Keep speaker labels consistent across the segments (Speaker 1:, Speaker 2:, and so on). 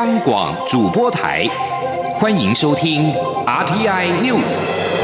Speaker 1: 央广主播台，欢迎收听 RTI News。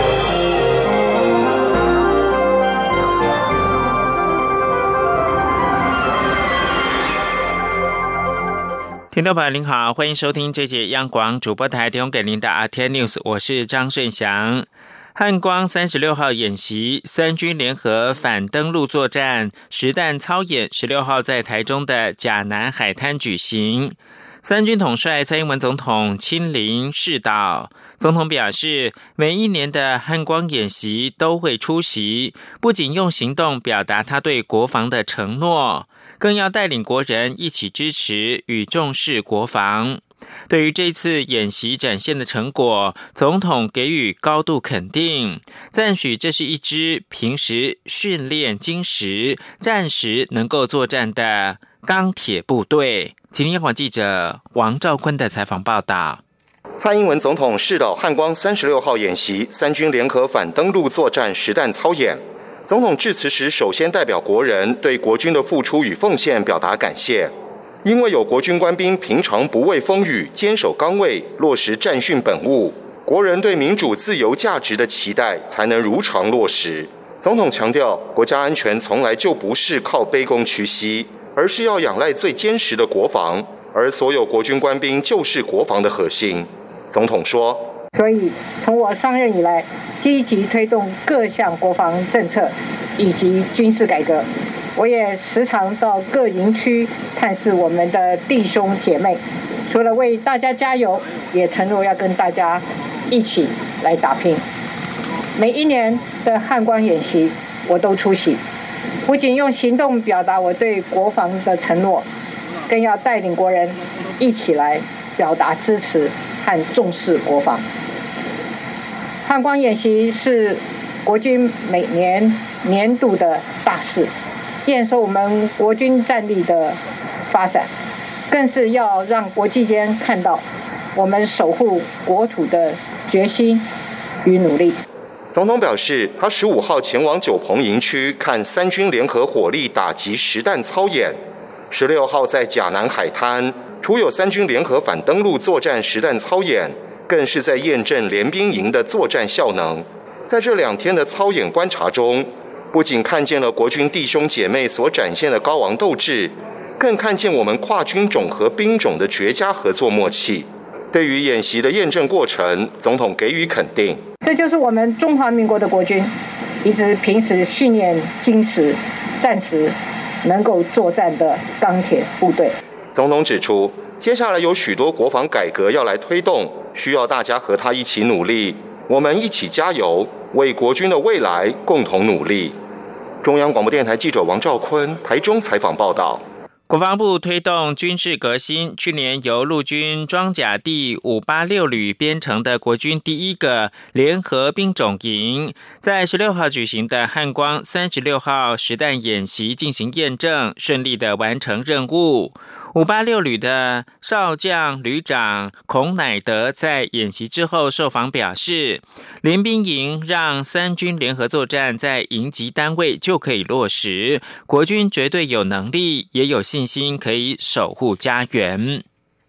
Speaker 2: 听众朋友您好，欢迎收听这节央广主播台提供给您的 RTI News， 我是张顺祥。汉光36号演习，三军联合反登陆作战实弹操演16号在台中的甲南海滩举行。三军统帅蔡英文总统亲临视导，总统表示，每一年的汉光演习都会出席，不仅用行动表达他对国防的承诺，更要带领国人一起支持与重视国防。对于这次演习展现的成果，总统给予高度肯定，赞许这是一支平时训练精实、战时能够作战的钢铁部队。请听央广记者王兆坤的采访报道。
Speaker 3: 蔡英文总统视导汉光36号演习，三军联合反登陆作战实弹操演。总统致辞时，首先代表国人对国军的付出与奉献表达感谢。因为有国军官兵平常不畏风雨，坚守岗位，落实战训本务，国人对民主自由价值的期待才能如常落实。总统强调，国家安全从来就不是靠卑躬屈膝，而是要仰赖最坚实的国防，而所有国军官兵就是国防的核心。总统说，
Speaker 4: 所以从我上任以来，积极推动各项国防政策以及军事改革，我也时常到各营区探视我们的弟兄姐妹，除了为大家加油，也承诺要跟大家一起来打拼。每一年的汉光演习我都出席，不仅用行动表达我对国防的承诺，更要带领国人一起来表达支持和重视国防。汉光演习是国军每年年度的大事，验收我们国军战力的发展，更是要让国际间看到我们守护国土的决心与努力。
Speaker 3: 总统表示，他15号前往九鹏营区看三军联合火力打击实弹操演，16号在甲南海滩，除有三军联合反登陆作战实弹操演，更是在验证联兵营的作战效能。在这2天的操演观察中，不仅看见了国军弟兄姐妹所展现的高昂斗志，更看见我们跨军种和兵种的绝佳合作默契。对于演习的验证过程，总统给予肯定。
Speaker 4: 这就是我们中华民国的国军，一支平时训练精实、战时能够作战的钢铁部队。
Speaker 3: 总统指出，接下来有许多国防改革要来推动，需要大家和他一起努力，我们一起加油，为国军的未来共同努力。中央广播电台记者王兆坤台中采访报道。
Speaker 2: 国防部推动军事革新，去年由陆军装甲第586旅编成的国军第一个联合兵种营，在16号举行的汉光36号实弹演习进行验证，顺利的完成任务。586旅的少将旅长孔乃德在演习之后受访表示，联兵营让三军联合作战在营级单位就可以落实，国军绝对有能力也有信心可以守护家园。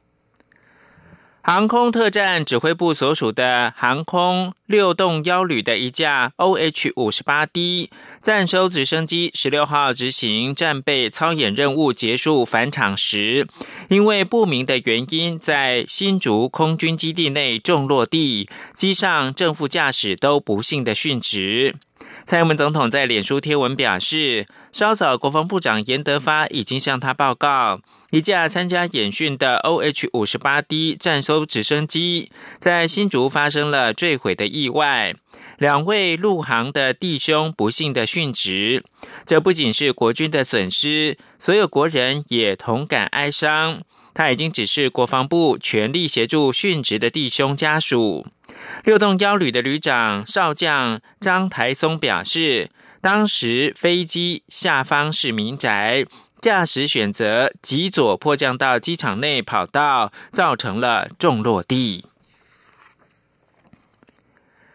Speaker 2: 航空特战指挥部所属的航空6洞1旅的一架 OH-58D 战收直升机16号执行战备操演任务结束返场时，因为不明的原因在新竹空军基地内重落地，机上正副驾驶都不幸的殉职。蔡英文总统在脸书贴文表示，稍早国防部长严德发已经向他报告，一架参加演训的 OH-58D 战收直升机在新竹发生了坠毁的意外，2位陆航的弟兄不幸的殉职。这不仅是国军的损失，所有国人也同感哀伤。他已经指示国防部全力协助殉职的弟兄家属。6洞1旅的旅长少将张台松表示，当时飞机下方是民宅，驾驶选择急左迫降到机场内跑道，造成了重落地。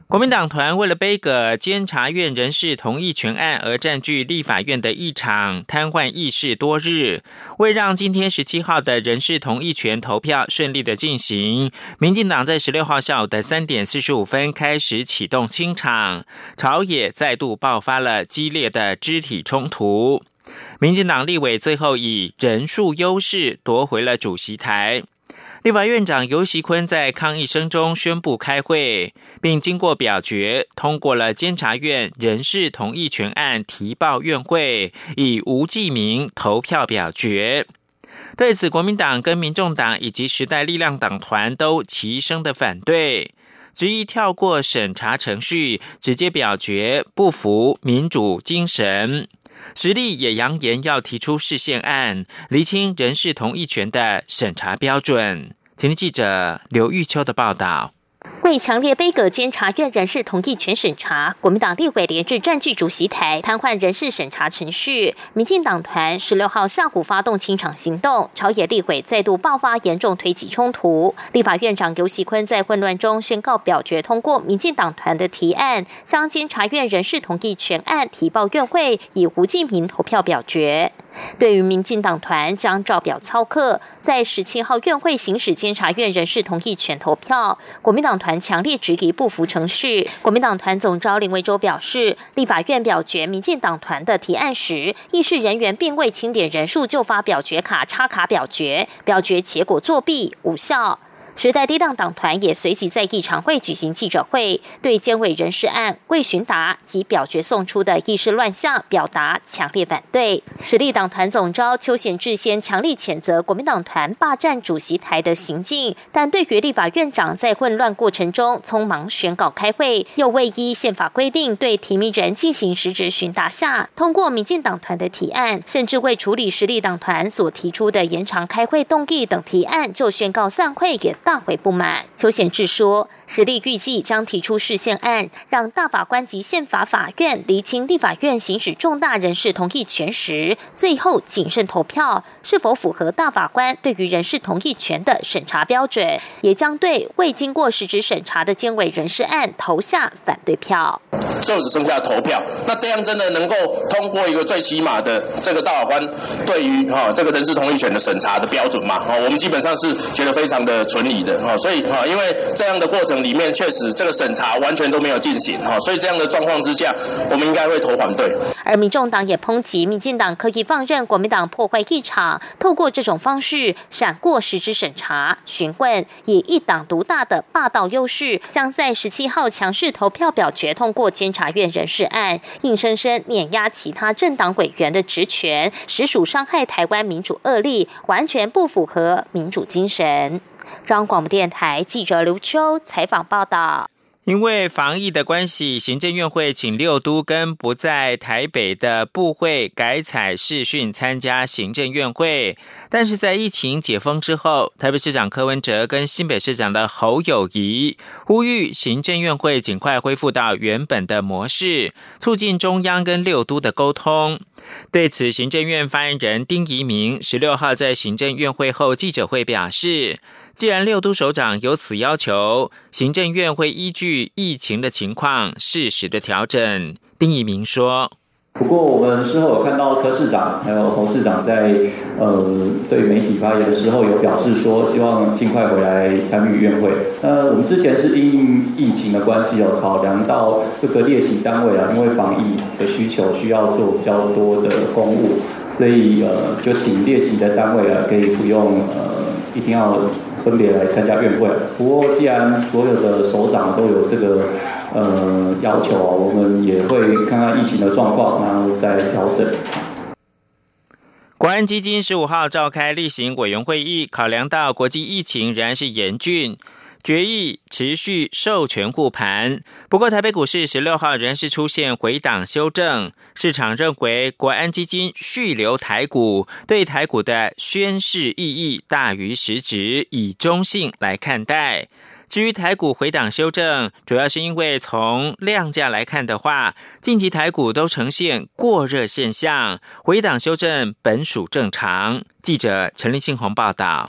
Speaker 2: 国民党团为了杯葛监察院人事同意权案而占据立法院的议场，瘫痪议事多日。为让今天17号的人事同意权投票顺利的进行，民进党在16号下午的3点45分开始启动清场，朝野再度爆发了激烈的肢体冲突。民进党立委最后以人数优势夺回了主席台。立法院长游锡堃在抗议声中宣布开会，并经过表决通过了监察院人事同意权案提报院会，以无记名投票表决。对此，国民党跟民众党以及时代力量党团都齐声的反对，执意跳过审查程序，直接表决，不符民主精神。时力也扬言要提出释宪案，厘清人事同意权的审查标准。前天记者刘玉秋的报道。
Speaker 5: 为强烈杯葛监察院人事同意权审查，国民党立委连日占据主席台，瘫痪人事审查程序。民进党团16号下午发动清场行动，朝野立委再度爆发严重推挤冲突。立法院长游锡堃在混乱中宣告表决通过民进党团的提案，将监察院人事同意权案提报院会，以无记名投票表决。对于民进党团将照表操课，在17号院会行使监察院人事同意权投票，国民党团强烈质疑不符程序。国民党团总召林维洲表示，立法院表决民进党团的提案时，议事人员并未清点人数就发表决卡插卡表决，表决结果作弊无效。时代力量党团也随即在议常会举行记者会，对监委人事案未询答及表决送出的议事乱象表达强烈反对。时力党团总召邱显智先强力谴责国民党团霸占主席台的行径，但对于立法院长在混乱过程中匆忙宣告开会，又未依宪法规定对提名人进行实质询答下，通过民进党团的提案，甚至未处理时力党团所提出的延长开会动议等提案，就宣告散会，也大为不满。邱显智说，时力预计将提出释宪案，让大法官及宪法法院厘清立法院行使重大人事同意权时，最后谨慎投票是否符合大法官对于人事同意权的审查标准，也将对未经过实质审查的监委人事案投下反对票。
Speaker 6: 就只剩下投票，那这样真的能够通过一个最起码的这个大法官对于这个人事同意权的审查的标准嘛？我们基本上是觉得非常的存疑的所以因为这样的过程里面确实这个审查完全都没有进行所以这样的状况之下，我们应该会投反对。
Speaker 5: 而民众党也抨击民进党刻意放任国民党破坏议场，透过这种方式闪过实质审查询问，以一党独大的霸道优势，将在17号强势投票表决通过监察院人事案，硬生生碾压其他政党委员的职权，实属伤害台湾民主恶例，完全不符合民主精神。中央广播电台记者刘秋采访报道。
Speaker 2: 因为防疫的关系，行政院会请6都跟不在台北的部会改采视讯参加行政院会，但是在疫情解封之后，台北市长柯文哲跟新北市长的侯友宜呼吁行政院会尽快恢复到原本的模式，促进中央跟6都的沟通。对此，行政院发言人丁怡明16号在行政院会后记者会表示，既然6都首长有此要求，行政院会依据疫情的情况适时的调整。丁怡明说，
Speaker 7: 不过我们事后有看到柯市长还有侯市长在对媒体发言的时候有表示说，希望尽快回来参与院会。我们之前是因疫情的关系有考量到各个列席单位因为防疫的需求需要做比较多的公务，所以就请列席的单位可以不用一定要分别来参加院会。不过既然所有的首长都有这个要求我们也会看看疫情的状况，然后再调整。
Speaker 2: 国安基金15号召开例行委员会议，考量到国际疫情仍然是严峻，决议持续授权护盘。不过台北股市16号仍是出现回档修正，市场认为国安基金续留台股对台股的宣示意义大于实质，以中性来看待。至于台股回档修正，主要是因为从量价来看的话，近期台股都呈现过热现象，回档修正本属正常。记者陈立庆宏报道。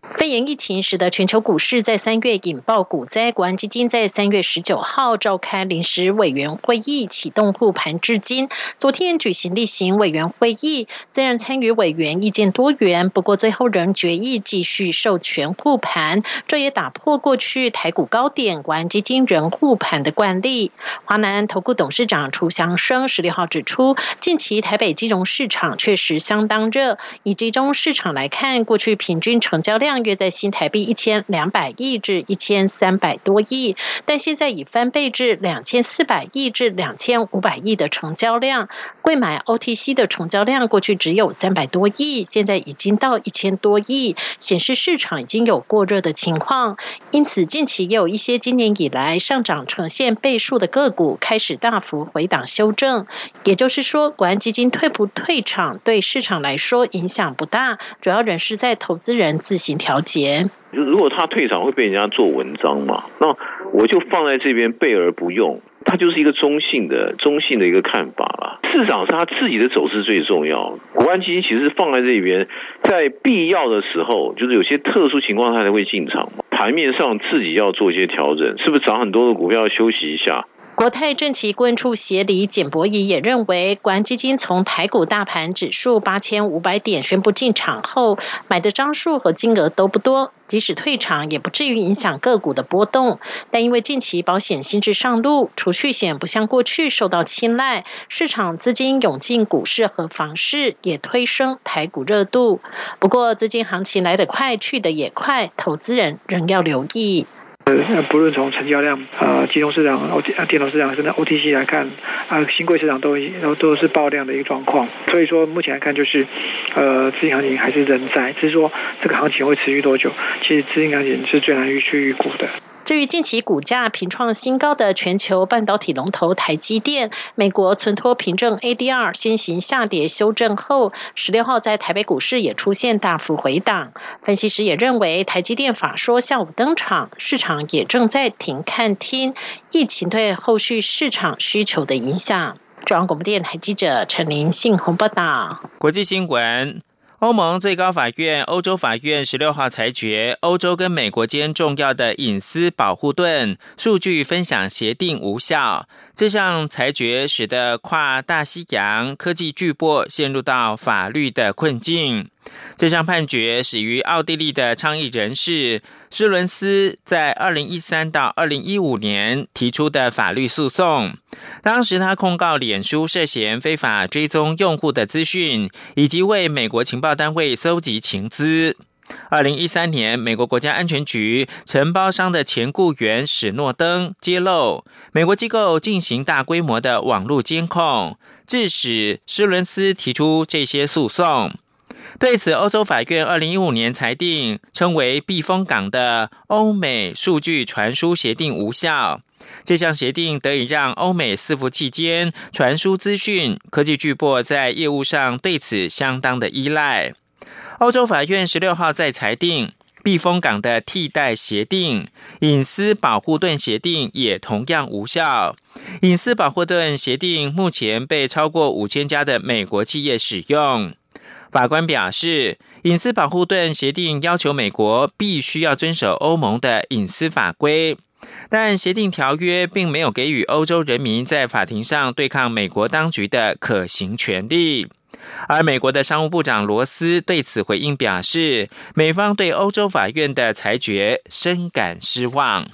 Speaker 8: 肺炎疫情使得全球股市在3月引爆股灾，国安基金在3月19号召开临时委员会议，启动护盘至今。昨天举行例行委员会议，虽然参与委员意见多元，不过最后仍决议继续授权护盘，这也打破过去台股高点国安基金仍护盘的惯例。华南投顾董事长楚祥生16号指出，近期台北金融市场确实相当热，以集中市场来看，过去平均成交量约在新台币1200亿至1300多亿，但现在已翻倍至2400亿至2500亿的成交量。柜买 OTC 的成交量过去只有300多亿，现在已经到1000多亿，显示市场已经有过热的情况。因此近期也有一些今年以来上涨呈现倍数的个股开始大幅回档修正，也就是说国安基金退不退场对市场来说影响不大，主要仍是在投资人自行调节。
Speaker 9: 如果他退场会被人家做文章嘛，那我就放在这边备而不用，它就是一个中性的一个看法啦。市场是他自己的走势最重要，国安基金其实放在这边，在必要的时候，就是有些特殊情况他才会进场嘛。盘面上自己要做一些调整，是不是涨很多的股票要休息一下？
Speaker 8: 国泰政企顾问处协理简博仪也认为，国安基金从台股大盘指数8500点宣布进场后，买的张数和金额都不多，即使退场也不至于影响个股的波动。但因为近期保险新制上路，储蓄险不像过去受到青睐，市场资金涌进股市和房市，也推升台股热度。不过资金行情来得快，去得也快，投资人仍要留意。
Speaker 10: 不论从成交量、金融市场、电脑市场甚至 OTC 来看，新贵市场都是爆量的一个状况。所以说目前来看，就是资金行情还是仍在，只是说这个行情会持续多久，其实资金行情是最难去预估的。
Speaker 8: 至于近期股价频创新高的全球半导体龙头台积电，美国存托凭证 ADR 先行下跌修正后，16号在台北股市也出现大幅回档。分析师也认为，台积电法说下午登场，市场也正在停看听疫情对后续市场需求的影响。中央广播电台记者陈琳信鸿报道。
Speaker 2: 国际新闻。欧盟最高法院、欧洲法院16号裁决，欧洲跟美国间重要的隐私保护盾数据分享协定无效。这项裁决使得跨大西洋科技巨擘陷入到法律的困境。这项判决始于奥地利的倡议人士施伦斯在2013到2015年提出的法律诉讼。当时他控告脸书涉嫌非法追踪用户的资讯，以及为美国情报单位搜集情资。2013年，美国国家安全局承包商的前雇员史诺登揭露，美国机构进行大规模的网络监控，致使施伦斯提出这些诉讼。对此，欧洲法院2015年裁定，称为避风港的欧美数据传输协定无效。这项协定得以让欧美伺服器间传输资讯，科技巨擘在业务上对此相当的依赖。欧洲法院16号再裁定，避风港的替代协定隐私保护盾协定也同样无效。隐私保护盾协定目前被超过5000家的美国企业使用。法官表示，隐私保护盾协定要求美国必须要遵守欧盟的隐私法规，但协定条约并没有给予欧洲人民在法庭上对抗美国当局的可行权利。而美国的商务部长罗斯对此回应表示，美方对欧洲法院的裁决深感失望。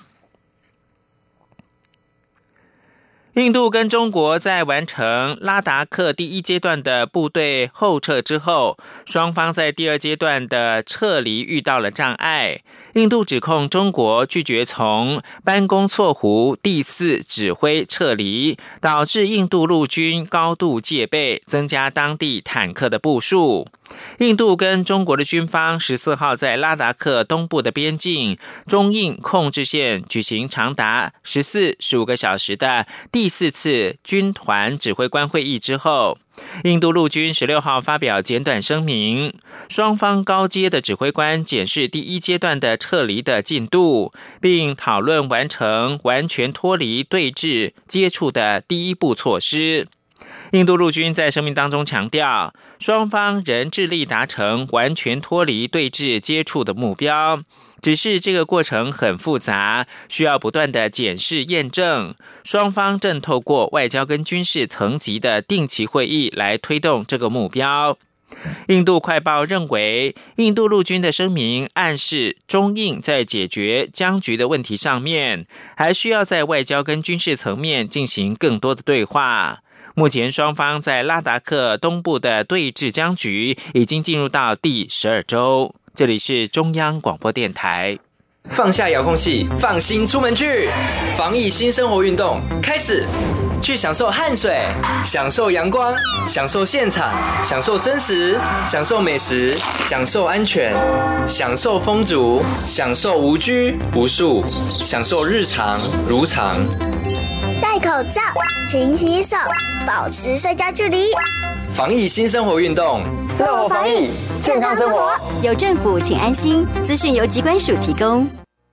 Speaker 2: 印度跟中国在完成拉达克第一阶段的部队后撤之后，双方在第二阶段的撤离遇到了障碍。印度指控中国拒绝从班公错湖第4指挥撤离，导致印度陆军高度戒备，增加当地坦克的部署。印度跟中国的军方14号在拉达克东部的边境中印控制线举行长达15个小时的第4次军团指挥官会议之后，印度陆军16号发表简短声明，双方高阶的指挥官检视第一阶段的撤离的进度，并讨论完成完全脱离对峙接触的第一步措施。印度陆军在声明当中强调， 双方仍致力达成完全脱离对峙接触的目标。只是这个过程很复杂，需要不断的检视验证。双方正透过外交跟军事层级的定期会议来推动这个目标。印度快报认为，印度陆军的声明暗示中印在解决僵局的问题上面，还需要在外交跟军事层面进行更多的对话。目前双方在拉达克东部的对峙僵局已经进入到第12周。这里是中央广播电台。
Speaker 11: 放下遥控器，放心出门去，防疫新生活运动开始。去享受汗水，享受阳光，享受现场，享受真实，享受美食，享受安全，享受风足，享受无拘无束，享受日常如常。
Speaker 12: 戴口罩，勤洗手，保持社交距离。
Speaker 11: 防疫新生活运动，乐活防疫，健康生活。
Speaker 13: 有政府，请安心。资讯由疾管署提供。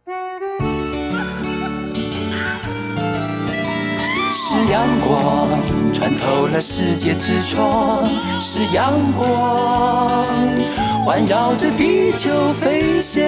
Speaker 14: 是阳光穿透了世界之窗，是阳光环绕着地球飞翔。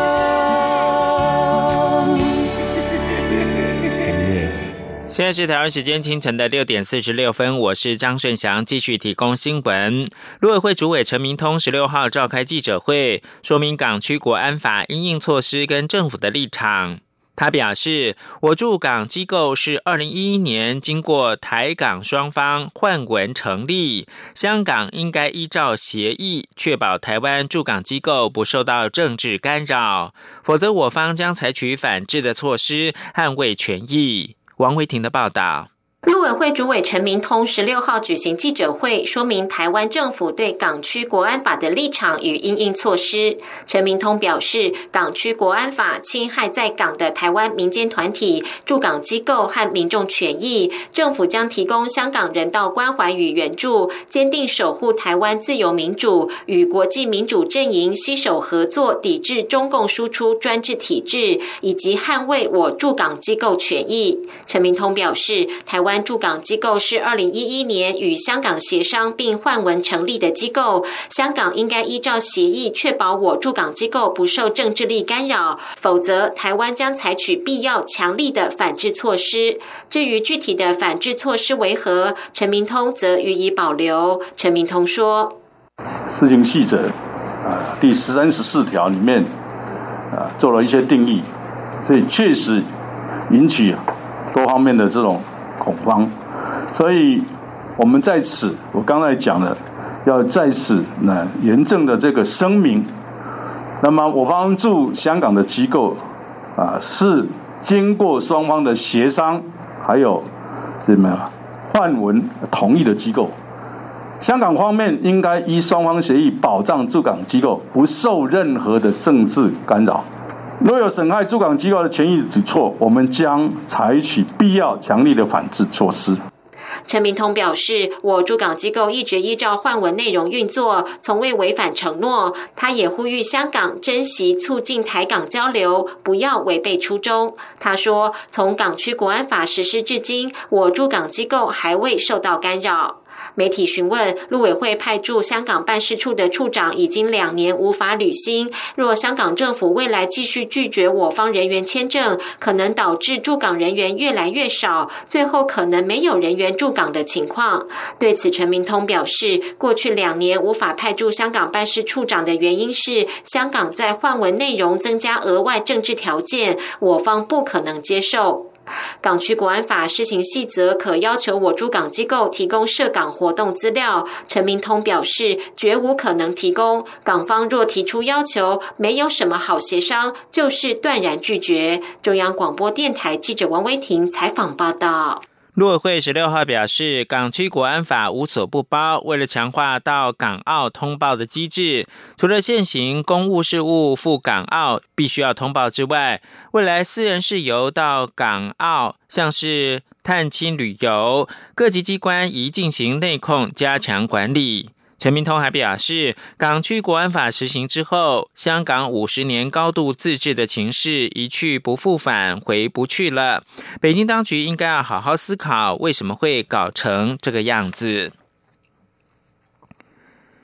Speaker 2: 现在是台湾时间清晨的6点46分，我是张顺祥，继续提供新闻。陆委会主委陈明通16号召开记者会，说明港区国安法因应措施跟政府的立场。他表示，我驻港机构是2011年经过台港双方换文成立，香港应该依照协议确保台湾驻港机构不受到政治干扰，否则我方将采取反制的措施捍卫权益。王维婷的报道。
Speaker 15: 陆委会主委陈明通16号举行记者会，说明台湾政府对港区国安法的立场与因应措施。陈明通表示，港区国安法侵害在港的台湾民间团体、驻港机构和民众权益，政府将提供香港人道关怀与援助，坚定守护台湾自由民主，与国际民主阵营携手合作，抵制中共输出专制体制，以及捍卫我驻港机构权益。陈明通表示，台湾驻港机构是2011年与香港协商并换文成立的机构，香港应该依照协议确保我驻港机构不受政治力干扰，否则台湾将采取必要强力的反制措施。至于具体的反制措施为何，陈明通则予以保留。陈明通说，
Speaker 16: 施行细则第13、14条里面做了一些定义，所以确实引起多方面的这种恐慌，所以我们在此，我刚才讲的，要在此严正的这个声明。那么我方驻香港的机构是经过双方的协商，还有换文同意的机构。香港方面应该依双方协议保障驻港机构不受任何的政治干扰。若有损害驻港机构的权益举措，我们将采取必要强力的反制措施。
Speaker 15: 陈明通表示，我驻港机构一直依照换文内容运作，从未违反承诺。他也呼吁香港珍惜促进台港交流，不要违背初衷。他说，从港区国安法实施至今，我驻港机构还未受到干扰。媒体询问，陆委会派驻香港办事处的处长已经2年无法履新，若香港政府未来继续拒绝我方人员签证，可能导致驻港人员越来越少，最后可能没有人员驻港的情况。对此，陈明通表示，过去2年无法派驻香港办事处长的原因是香港在换文内容增加额外政治条件，我方不可能接受。港区国安法施行细则可要求我驻港机构提供涉港活动资料，陈明通表示绝无可能提供，港方若提出要求，没有什么好协商，就是断然拒绝。中央广播电台记者王威婷采访报道。
Speaker 2: 陆委会16号表示，港区国安法无所不包，为了强化到港澳通报的机制，除了现行公务事务赴港澳必须要通报之外，未来私人事游到港澳，像是探亲旅游，各级机关宜进行内控，加强管理。陈明通还表示，港区国安法实行之后，香港50年高度自治的情势一去不复返，回不去了。北京当局应该要好好思考，为什么会搞成这个样子。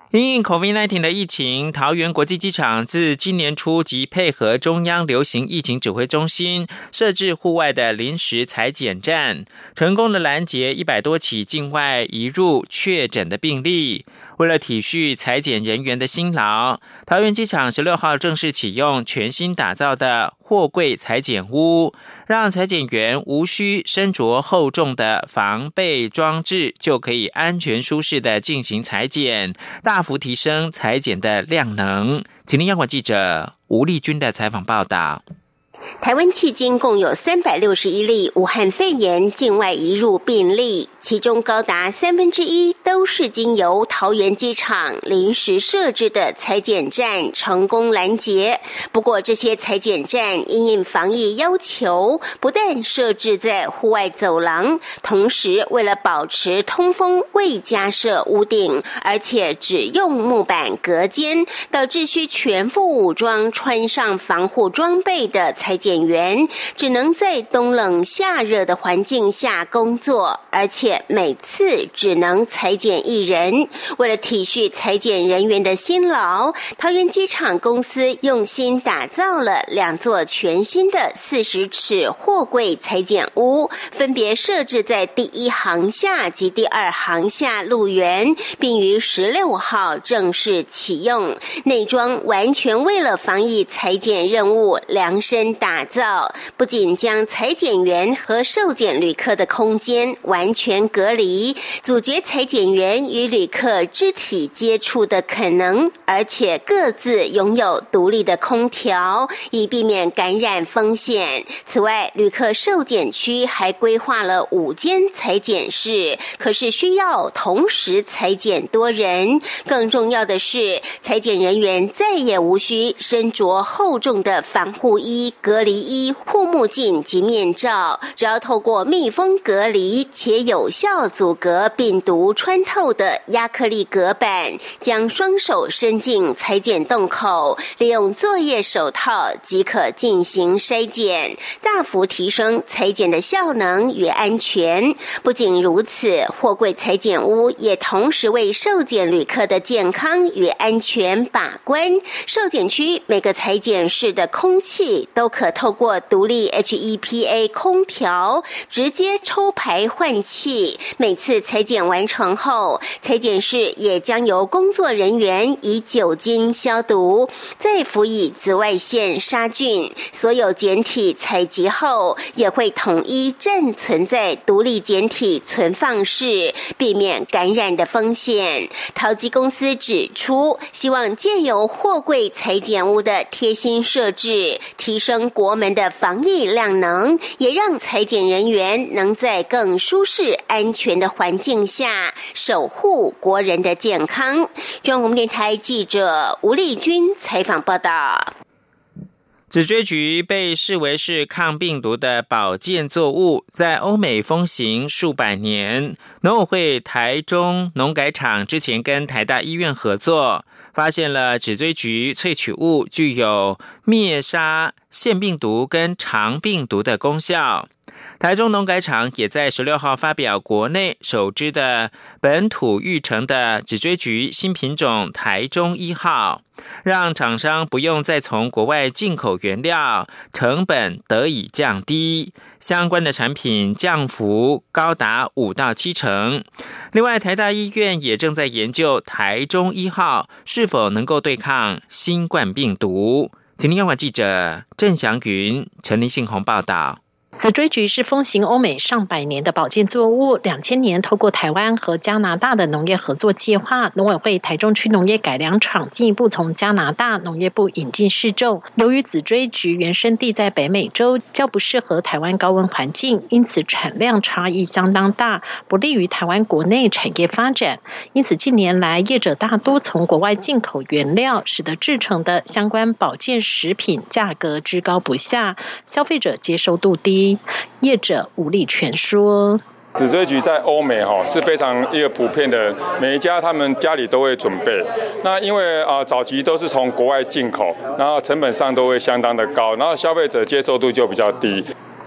Speaker 2: 因应 COVID-19 的疫情，桃园国际机场自今年初即配合中央流行疫情指挥中心设置户外的临时采检站，成功的拦截100多起境外移入确诊的病例。为了体恤采检人员的辛劳，桃园机场16号正式启用全新打造的货柜采检屋，让采检员无需身着厚重的防备装置，就可以安全舒适的进行采检，大幅提升采检的量能。请听央广记者吴丽君的采访报道。
Speaker 17: 台湾迄今共有361例武汉肺炎境外移入病例，其中高达1/3都是经由桃园机场临时设置的采检站成功拦截。不过这些采检站因应防疫要求，不但设置在户外走廊，同时为了保持通风未加设屋顶，而且只用木板隔间，导致需全副武装穿上防护装备的采检员只能在冬冷夏热的环境下工作，而且每次只能采检1人。为了体恤采检人员的辛劳，桃园机场公司用心打造了2座全新的40尺货柜采检屋，分别设置在第1航厦及第2航厦路园，并于16号正式启用。内装完全为了防疫采检任务量身打造，不仅将采检员和受检旅客的空间完全隔离，阻绝采检员与旅客肢体接触的可能，而且各自拥有独立的空调，以避免感染风险。此外，旅客受检区还规划了5间采检室，可是需要同时采检多人。更重要的是，采检人员再也无需身着厚重的防护衣、隔离衣、护目镜及面罩，只要透过密封隔离且有效阻隔病毒穿透的亚克力隔板，将双手伸进采检洞口，利用作业手套即可进行筛检，大幅提升采检的效能与安全。不仅如此，货柜采检屋也同时为受检旅客的健康与安全把关。受检区每个采检室的空气都可透过独立 HEPA 空调直接抽排换气，每次采检完成后，采检室也将由工作人员以酒精消毒，再辅以紫外线杀菌。所有检体采集后也会统一暂存在独立检体存放室，避免感染的风险。桃机公司指出，希望借由货柜采检屋的贴心设置，提升国门的防疫量能，也让采检人员能在更舒适安全的环境下守护国人的健康。中央广播电台记者吴丽君采访报道。
Speaker 2: 紫锥菊被视为是抗病毒的保健作物，在欧美风行数百年。农委会台中农改场之前跟台大医院合作，发现了紫锥菊萃取物具有灭杀腺病毒跟肠病毒的功效。台中农改场也在16号发表国内首支的本土育成的紫锥菊新品种台中1号，让厂商不用再从国外进口原料，成本得以降低，相关的产品降幅高达5到7成。另外，台大医院也正在研究台中1号是否能够对抗新冠病毒。请听央广记者郑祥云、陈林信宏报道。
Speaker 8: 紫锥菊是风行欧美上百年的保健作物，2000年透过台湾和加拿大的农业合作计划，农委会台中区农业改良场进一步从加拿大农业部引进试种。由于紫锥菊原生地在北美洲，较不适合台湾高温环境，因此产量差异相当大，不利于台湾国内产业发展。因此近年来业者大多从国外进口原料，使得制成的相关保健食品价格居高不下，消费者接受度低。业者吴立全说，
Speaker 18: 紫锥菊在欧美是非常一个普遍的，每一家他们家里都会准备。那因为早期都是从国外进口，然后成本上都会相当的高，然后消费者接受度就比较低。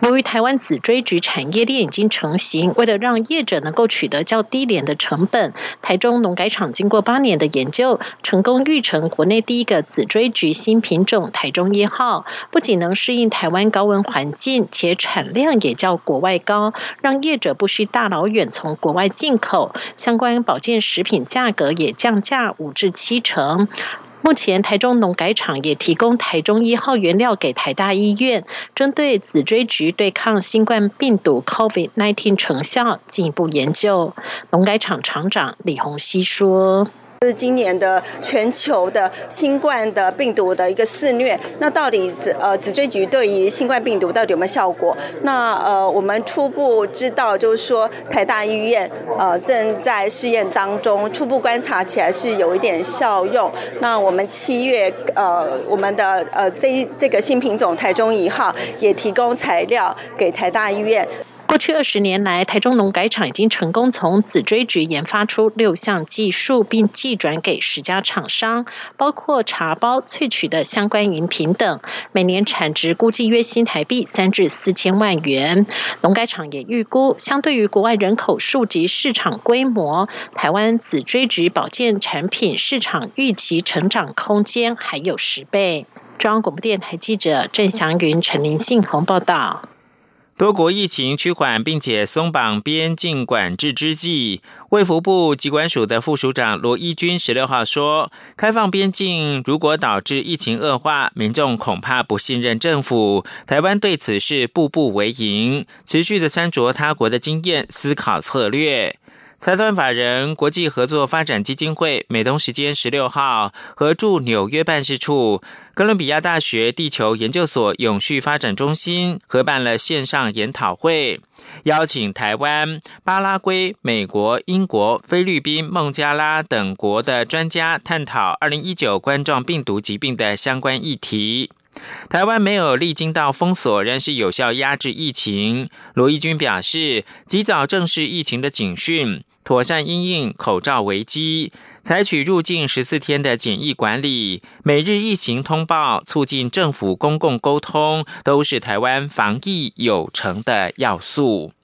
Speaker 8: 由于台湾紫锥菊产业链已经成型，为了让业者能够取得较低廉的成本，台中农改场经过8年的研究，成功育成国内第一个紫锥菊新品种台中1号，不仅能适应台湾高温环境，且产量也较国外高，让业者不需大老远从国外进口，相关保健食品价格也降价5至7成。目前台中农改场也提供台中1号原料给台大医院，针对紫锥菊对抗新冠病毒 COVID-19 成效进一步研究。农改场厂长李鸿熙说，
Speaker 19: 就是今年的全球的新冠的病毒的一个肆虐，那到底紫锥菊对于新冠病毒到底有没有效果？那我们初步知道，就是说台大医院正在试验当中，初步观察起来是有一点效用。那我们7月我们的这个新品种台中1号也提供材料给台大医院。
Speaker 8: 过去20年来，台中农改场已经成功从紫锥菊研发出6项技术，并寄转给10家厂商，包括茶包、萃取的相关饮品等，每年产值估计约新台币3至4千万元。农改场也预估，相对于国外人口数及市场规模，台湾紫锥菊保健产品市场预期成长空间还有10倍。中央广播电台记者郑祥云、陈林信宏报道。
Speaker 2: 多国疫情趋缓并且松绑边境管制之际，卫福部疾管署的副署长罗一军16号说，开放边境如果导致疫情恶化，民众恐怕不信任政府，台湾对此是步步为营，持续的参酌他国的经验，思考策略。财团法人国际合作发展基金会美东时间16号和驻纽约办事处、哥伦比亚大学地球研究所永续发展中心合办了线上研讨会，邀请台湾、巴拉圭、美国、英国、菲律宾、孟加拉等国的专家探讨2019冠状病毒疾病的相关议题。台湾没有历经到封锁，仍是有效压制疫情。罗一军表示，及早正视疫情的警讯，妥善因应口罩危机，采取入境14天的检疫管理，每日疫情通报，促进政府公共沟通，都是台湾防疫有成的要素。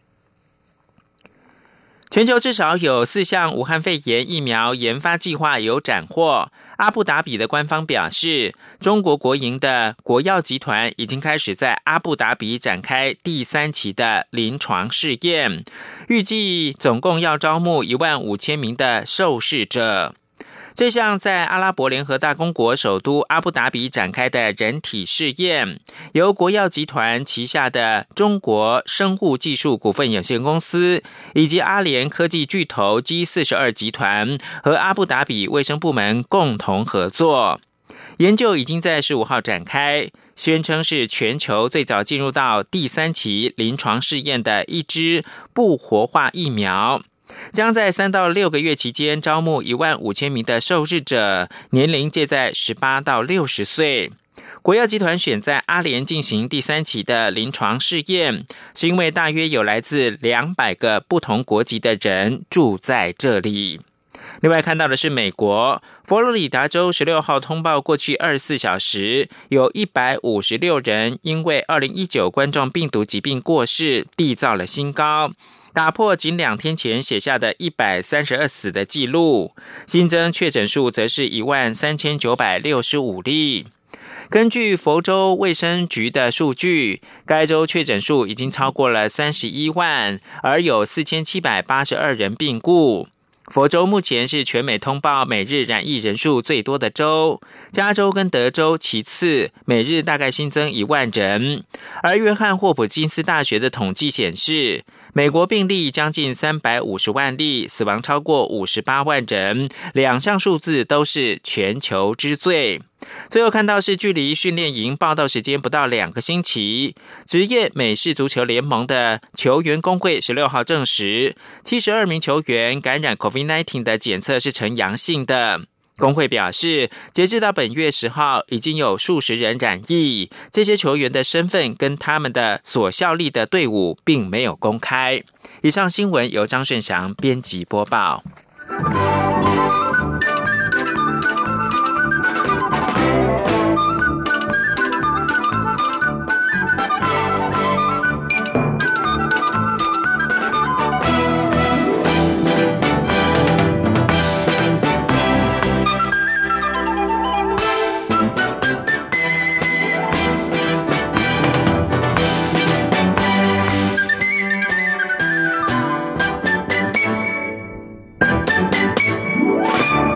Speaker 2: 全球至少有4项武汉肺炎疫苗研发计划有斩获。阿布达比的官方表示，中国国营的国药集团已经开始在阿布达比展开第3期的临床试验，预计总共要招募15000名的受试者。这项在阿拉伯联合大公国首都阿布达比展开的人体试验，由国药集团旗下的中国生物技术股份有限公司以及阿联科技巨头 G42 集团和阿布达比卫生部门共同合作。研究已经在15号展开，宣称是全球最早进入到第3期临床试验的一支不活化疫苗，将在3到6个月期间招募15000名的受试者，年龄介在18到60岁。国药集团选在阿联进行第3期的临床试验，是因为大约有来自200个不同国籍的人住在这里。另外看到的是美国佛罗里达州16号通报，过去24小时有156人因为2019冠状病毒疾病过世，缔造了新高，打破仅2天前写下的132死的记录，新增确诊数则是13965例。根据佛州卫生局的数据，该州确诊数已经超过了31万，而有4782人病故。佛州目前是全美通报每日染疫人数最多的州，加州跟德州其次，每日大概新增1万人。而约翰霍普金斯大学的统计显示，美国病例将近350万例，死亡超过58万人，2项数字都是全球之最。最后看到是距离训练营报到时间不到2个星期，职业美式足球联盟的球员工会16号证实，72名球员感染 COVID-19 的检测是呈阳性的。工会表示，截至到本月10号，已经有数十人染疫，这些球员的身份跟他们的所效力的队伍并没有公开。以上新闻由张顺祥编辑播报。